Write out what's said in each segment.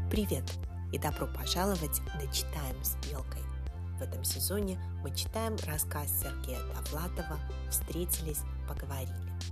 Привет и добро пожаловать на «Читаем с Белкой». В этом сезоне мы читаем рассказ Сергея Довлатова «Встретились, поговорили».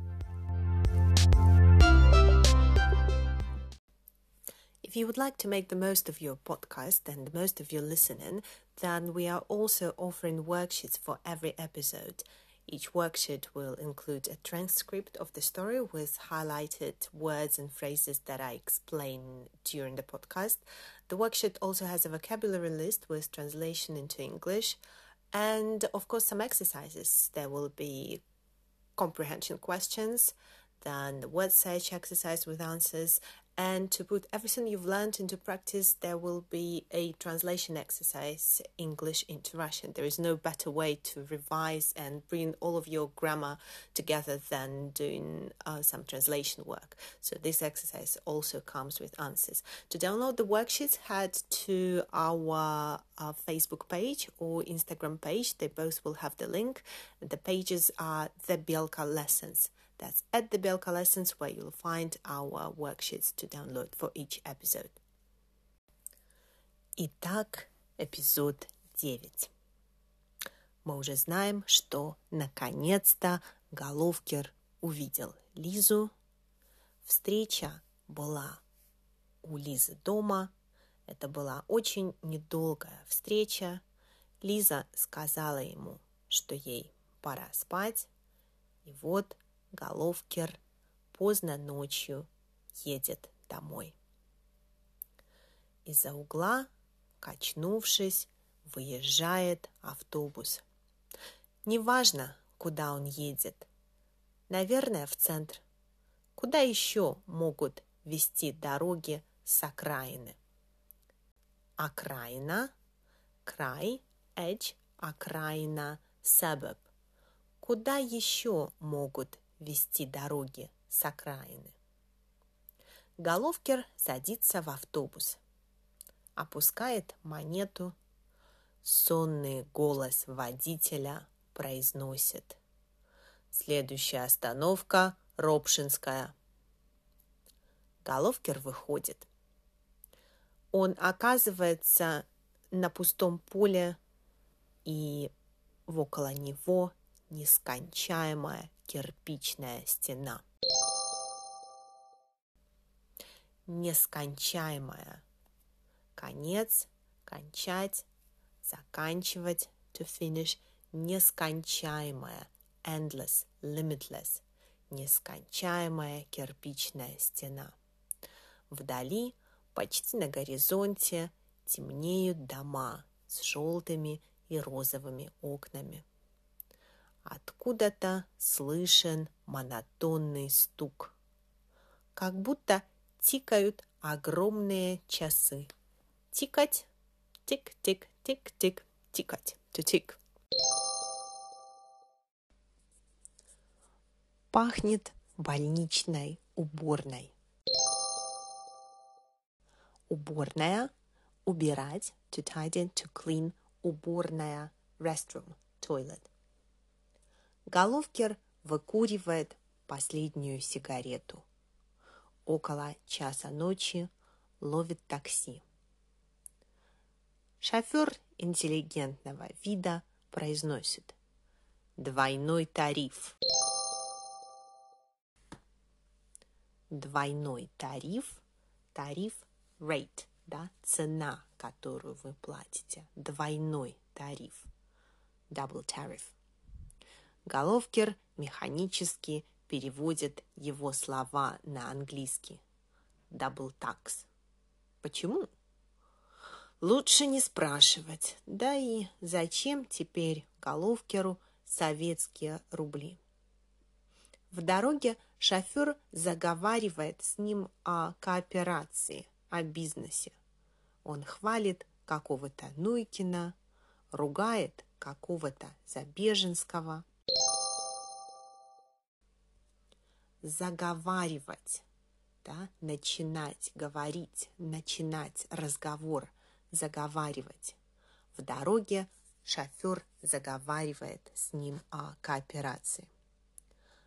If you would like to make the most of your podcast and the most of your listening, then we are also offering worksheets for every episode. Each worksheet will include a transcript of the story with highlighted words and phrases that I explain during the podcast. The worksheet also has a vocabulary list with translation into English and, of course, some exercises. There will be comprehension questions, then the word search exercise with answers, and to put everything you've learned into practice, there will be a translation exercise, English into Russian. There is no better way to revise and bring all of your grammar together than doing some translation work. So this exercise also comes with answers. To download the worksheets, head to our Facebook page or Instagram page. They both will have the link. The pages are The Belka Lessons. That's at The Belka Lessons, where you'll find our worksheets to download for each episode. Итак, эпизод 9. Мы уже знаем, что наконец-то Головкер увидел Лизу. Встреча была у Лизы дома. Это была очень недолгая встреча. Лиза сказала ему, что ей пора спать. И вот Головкер поздно ночью едет домой. Из-за угла, качнувшись, выезжает автобус. Неважно, куда он едет. Наверное, в центр. Куда еще могут вести дороги с окраины? Окраина, край, edge, окраина, suburb. Куда еще могут вести дороги с окраины? Головкер садится в автобус, опускает монету. Сонный голос водителя произносит: «Следующая остановка – Ропшинская». Головкер выходит. Он оказывается на пустом поле, и около него нескончаемая кирпичная стена. Нескончаемая. Конец, кончать, заканчивать, to finish. Нескончаемая, endless, limitless. Нескончаемая кирпичная стена. Вдали, почти на горизонте, темнеют дома с желтыми и розовыми окнами. Откуда-то слышен монотонный стук, как будто тикают огромные часы. Тикать, тик-тик, тик-тик, тикать, to tick. Пахнет больничной уборной. Уборная, убирать, to tidy, to clean. Уборная, restroom, toilet. Головкер выкуривает последнюю сигарету. Около часа ночи ловит такси. Шофер интеллигентного вида произносит: «Двойной тариф». Двойной тариф, тариф, rate, да, цена, которую вы платите. Двойной тариф, double tariff. Головкер механически переводит его слова на английский. Double tax. Почему? Лучше не спрашивать. Да и зачем теперь Головкеру советские рубли? В дороге шофер заговаривает с ним о кооперации, о бизнесе. Он хвалит какого-то Нуйкина, ругает какого-то Забеженского. Заговаривать, да, начинать говорить, начинать разговор, заговаривать. В дороге шофер заговаривает с ним о кооперации.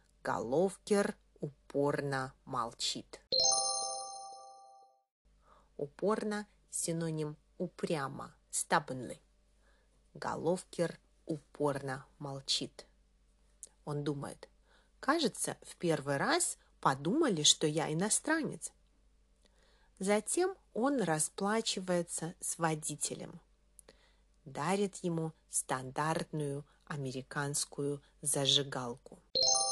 Головкер упорно молчит. Упорно – синоним упрямо, stubbornly. Головкер упорно молчит. Он думает: кажется, в первый раз подумали, что я иностранец. Затем он расплачивается с водителем, дарит ему стандартную американскую зажигалку.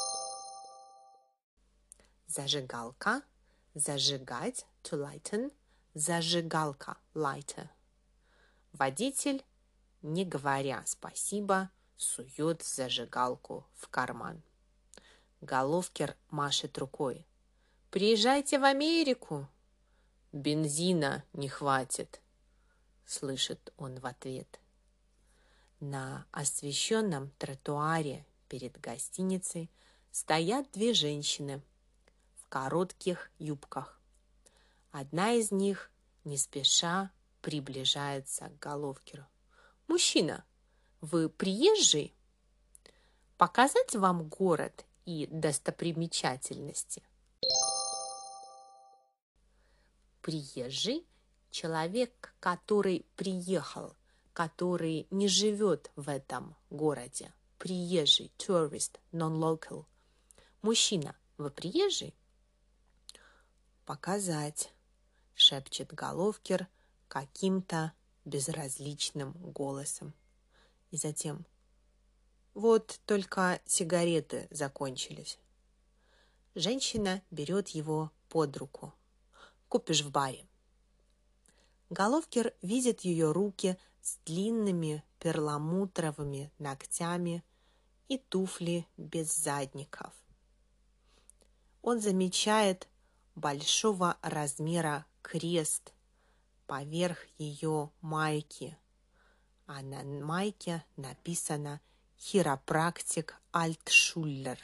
Зажигалка, зажигать, to lighten, зажигалка, lighter. Водитель, не говоря спасибо, сует зажигалку в карман. Головкер машет рукой: «Приезжайте в Америку!» «Бензина не хватит», — слышит он в ответ. На освещенном тротуаре перед гостиницей стоят две женщины в коротких юбках. Одна из них не спеша приближается к Головкеру. «Мужчина, вы приезжий? Показать вам город и достопримечательности?» Приезжий – человек, который приехал, который не живет в этом городе. Приезжий, tourist, non-local. Мужчина, вы приезжий? Показать, шепчет Головкер каким-то безразличным голосом. И затем: вот только сигареты закончились. Женщина берет его под руку. Купишь в баре. Головкер видит ее руки с длинными перламутровыми ногтями и туфли без задников. Он замечает большого размера крест поверх ее майки, а на майке написано «Хиропрактик Альтшуллер».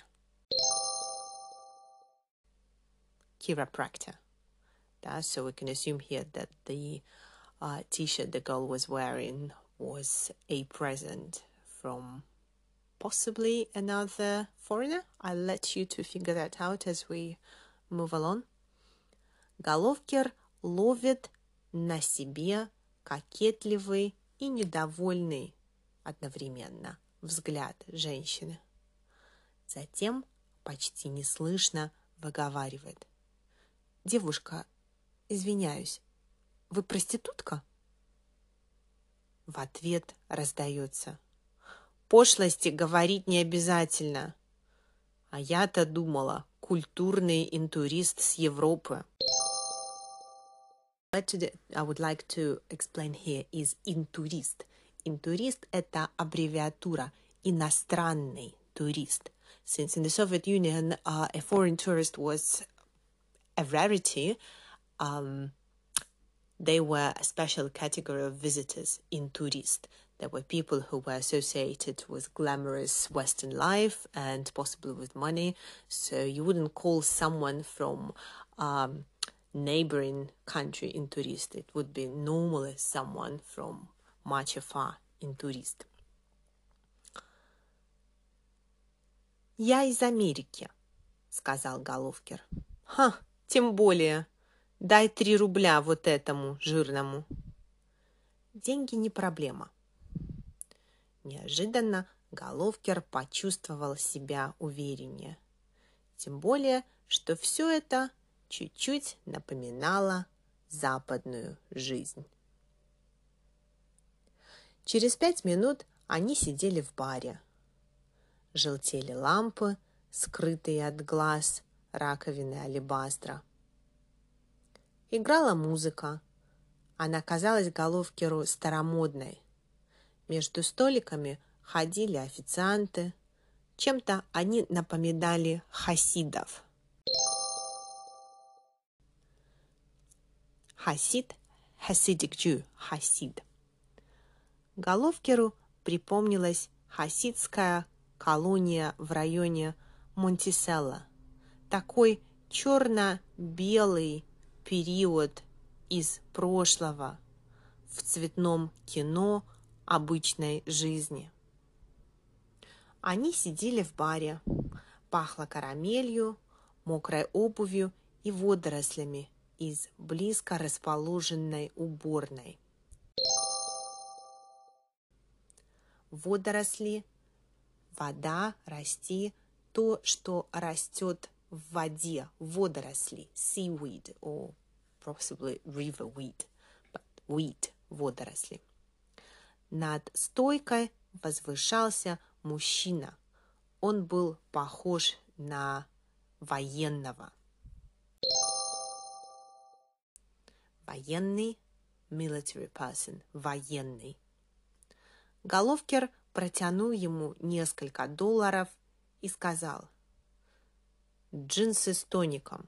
Chiropractor. So we can assume here that the t-shirt the girl was wearing was a present from possibly another foreigner. I'll let you to figure that out as we move along. Головкер ловит на себе кокетливый и недовольный одновременно взгляд женщины. Затем почти неслышно выговаривает: «Девушка, извиняюсь, вы проститутка?» В ответ раздается: «Пошлости говорить не обязательно. А я-то думала, культурный интурист с Европы». What I would like to explain here is интурист. Интурист – это аббревиатура иностранный турист. Since in the Soviet Union, a foreign tourist was a rarity, they were a special category of visitors in tourist. There were people who were associated with glamorous Western life and possibly with money. So you wouldn't call someone from neighboring country in tourist. It would be normally someone from much afar in tourist. «Я из Америки», — сказал Головкер. «Ха, тем более. Дай 3 рубля вот этому жирному». Деньги не проблема. Неожиданно Головкер почувствовал себя увереннее. Тем более, что все это чуть-чуть напоминало западную жизнь. Через 5 минут они сидели в баре. Желтели лампы, скрытые от глаз раковины алебастра. Играла музыка. Она казалась Головкеру старомодной. Между столиками ходили официанты. Чем-то они напоминали хасидов. Хасид – Hasidic Jew, хасид. Головкеру припомнилась хасидская колония в районе Монтиселло. Такой черно-белый период из прошлого в цветном кино обычной жизни. Они сидели в баре. Пахло карамелью, мокрой обувью и водорослями из близко расположенной уборной. Водоросли, вода, расти, то, что растет в воде, водоросли, seaweed or possibly riverweed, but weed, водоросли. Над стойкой возвышался мужчина. Он был похож на военного. Военный, military person, военный. Головкер протянул ему несколько $, и сказал: «Джинсы с тоником».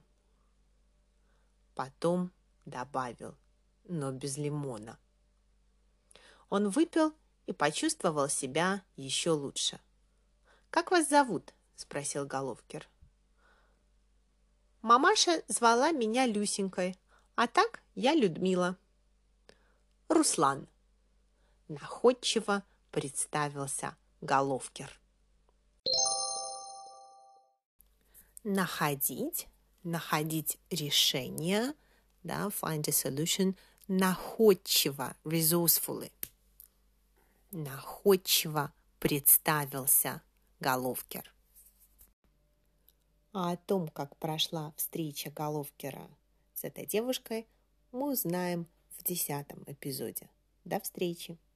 Потом добавил: «но без лимона». Он выпил и почувствовал себя еще лучше. «Как вас зовут?» – спросил Головкер. «Мамаша звала меня Люсенькой, а так я Людмила». «Руслан», – находчиво представился Головкер. Находить решение, да, find a solution, находчиво, resourcefully. Находчиво представился Головкер. А о том, как прошла встреча Головкера с этой девушкой, мы узнаем в 10 эпизоде. До встречи!